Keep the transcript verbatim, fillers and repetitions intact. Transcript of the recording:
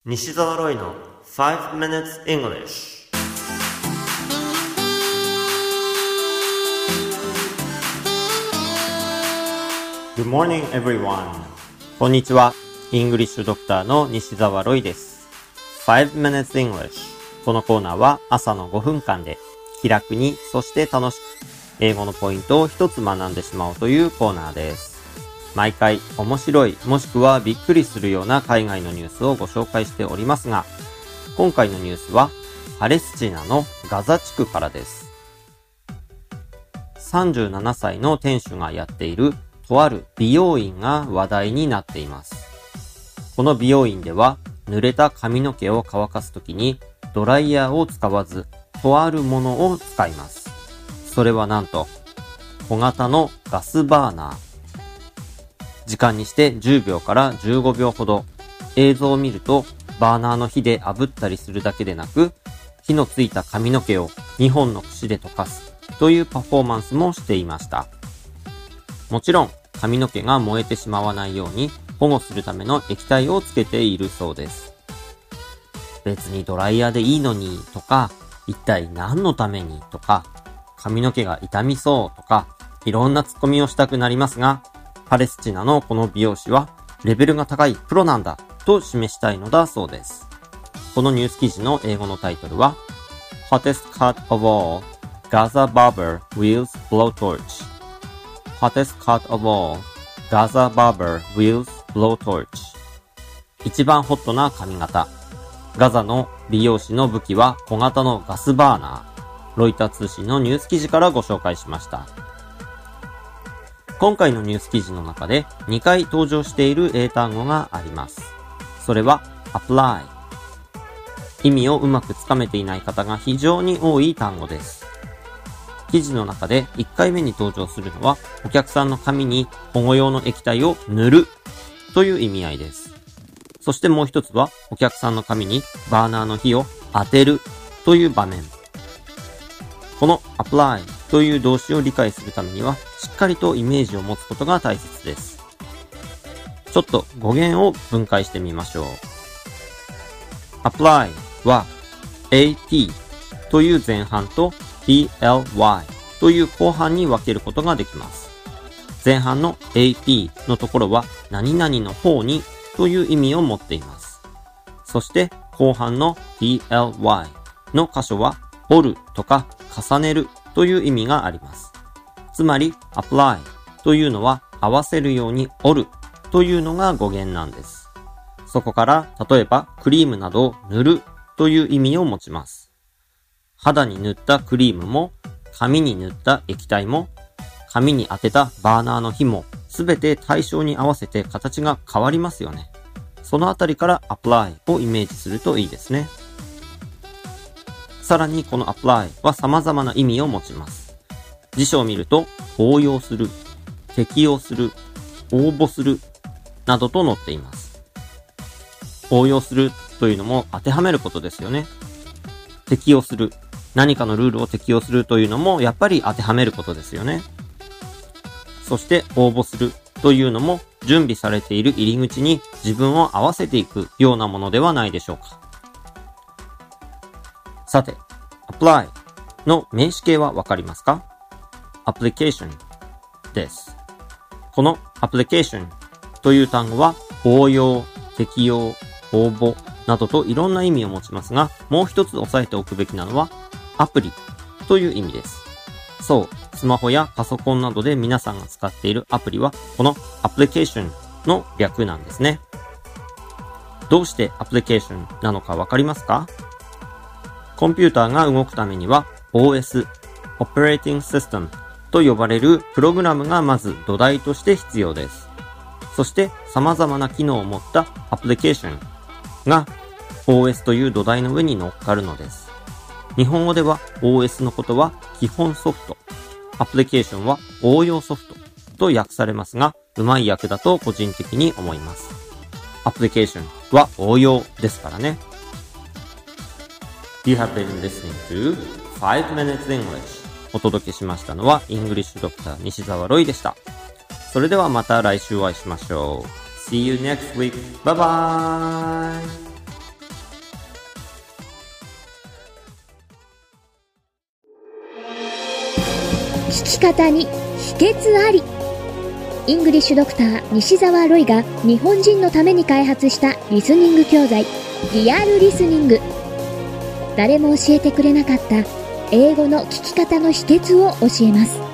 西澤ロイの five minutes English。 Good morning everyone。 こんにちは。イングリッシュドクターの西澤ロイです。five minutes English。 このコーナーは朝のごふんかんで気楽に、そして楽しく英語のポイントを一つ学んでしまおうというコーナーです。毎回面白い、もしくはびっくりするような海外のニュースをご紹介しておりますが、今回のニュースはパレスチナのガザ地区からです。さんじゅうななさいの店主がやっているとある美容院が話題になっています。この美容院では濡れた髪の毛を乾かすときにドライヤーを使わず、とあるものを使います。それはなんと小型のガスバーナー。時間にしてじゅうびょうからじゅうごびょうほど。映像を見るとバーナーの火で炙ったりするだけでなく、火のついた髪の毛をにほんの櫛で溶かすというパフォーマンスもしていました。もちろん髪の毛が燃えてしまわないように保護するための液体をつけているそうです。別にドライヤーでいいのにとか、一体何のためにとか、髪の毛が傷みそうとか、いろんなツッコミをしたくなりますが、パレスチナのこの美容師はレベルが高いプロなんだと示したいのだそうです。このニュース記事の英語のタイトルは Hottest cut of all Gaza barber wields blowtorch Hottest cut of all Gaza barber wields blowtorch 一番ホットな髪型、ガザの美容師の武器は小型のガスバーナー。ロイター通信のニュース記事からご紹介しました。今回のニュース記事の中でにかい登場している英単語があります。それは apply。 意味をうまくつかめていない方が非常に多い単語です。記事の中でいっかいめに登場するのは、お客さんの髪に保護用の液体を塗るという意味合いです。そしてもう一つは、お客さんの髪にバーナーの火を当てるという場面。この apply という動詞を理解するためには、しっかりとイメージを持つことが大切です。ちょっと語源を分解してみましょう。apply は at という前半と ply という後半に分けることができます。前半の ap のところは何々の方にという意味を持っています。そして後半の ply の箇所は折るとか重ねるという意味があります。つまり apply というのは合わせるように折るというのが語源なんです。そこから例えばクリームなどを塗るという意味を持ちます。肌に塗ったクリームも、髪に塗った液体も、髪に当てたバーナーの火も、すべて対象に合わせて形が変わりますよね。そのあたりから apply をイメージするといいですね。さらにこの apply は様々な意味を持ちます。辞書を見ると、応用する、適用する、応募する、などと載っています。応用するというのも当てはめることですよね。適用する、何かのルールを適用するというのもやっぱり当てはめることですよね。そして応募するというのも準備されている入り口に自分を合わせていくようなものではないでしょうか。さて、apply の名詞形はわかりますか？application です。この application という単語は応用、適用、応募などといろんな意味を持ちますが、もう一つ押さえておくべきなのはアプリという意味です。そう、スマホやパソコンなどで皆さんが使っているアプリはこの application の略なんですね。どうして application なのかわかりますか？コンピューターが動くためには オーエス、Operating Systemと呼ばれるプログラムがまず土台として必要です。そして様々な機能を持ったアプリケーションが オーエス という土台の上に乗っかるのです。日本語では オーエス のことは基本ソフト、アプリケーションは応用ソフトと訳されますが、うまい訳だと個人的に思います。アプリケーションは応用ですからね。You have been listening to five minutes English。お届けしましたのはイングリッシュドクター西澤ロイでした。それではまた来週お会いしましょう。See you next week. Bye bye! 聞き方に秘訣あり。イングリッシュドクター西澤ロイが日本人のために開発したリスニング教材、リアルリスニング。誰も教えてくれなかった英語の聞き方の秘訣を教えます。